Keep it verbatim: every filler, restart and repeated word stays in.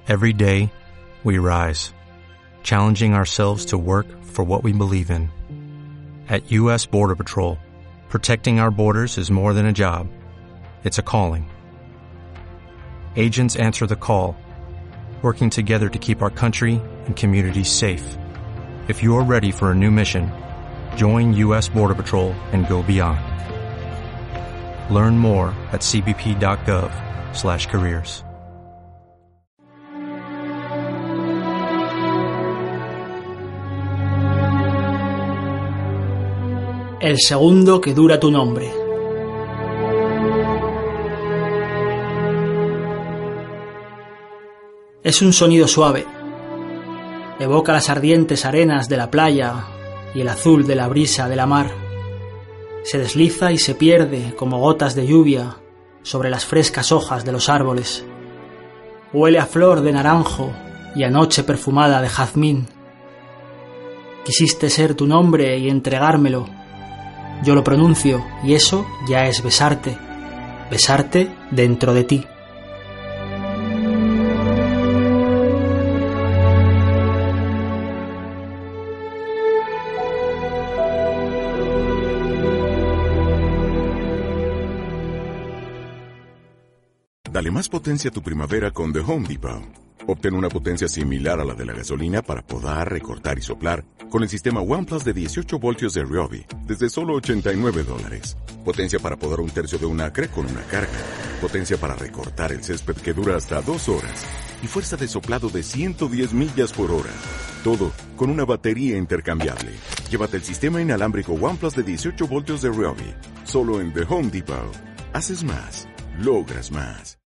Every day, we rise, challenging ourselves to work for what we believe in. At U S Border Patrol, protecting our borders is more than a job. It's a calling. Agents answer the call, working together to keep our country and communities safe. If you're ready for a new mission, join U S Border Patrol and go beyond. Learn more at c b p dot gov slash careers. El segundo que dura tu nombre. Es un sonido suave. Evoca las ardientes arenas de la playa y el azul de la brisa de la mar. Se desliza y se pierde como gotas de lluvia sobre las frescas hojas de los árboles. Huele a flor de naranjo y a noche perfumada de jazmín. Quisiste ser tu nombre y entregármelo. Yo lo pronuncio y eso ya es besarte, besarte dentro de ti. Dale más potencia a tu primavera con The Home Depot. Obtén una potencia similar a la de la gasolina para podar, recortar y soplar con el sistema OnePlus de dieciocho voltios de Ryobi desde solo ochenta y nueve dólares. Potencia para podar un tercio de un acre con una carga. Potencia para recortar el césped que dura hasta dos horas. Y fuerza de soplado de ciento diez millas por hora. Todo con una batería intercambiable. Llévate el sistema inalámbrico OnePlus de dieciocho voltios de Ryobi. Solo en The Home Depot. Haces más. Logras más.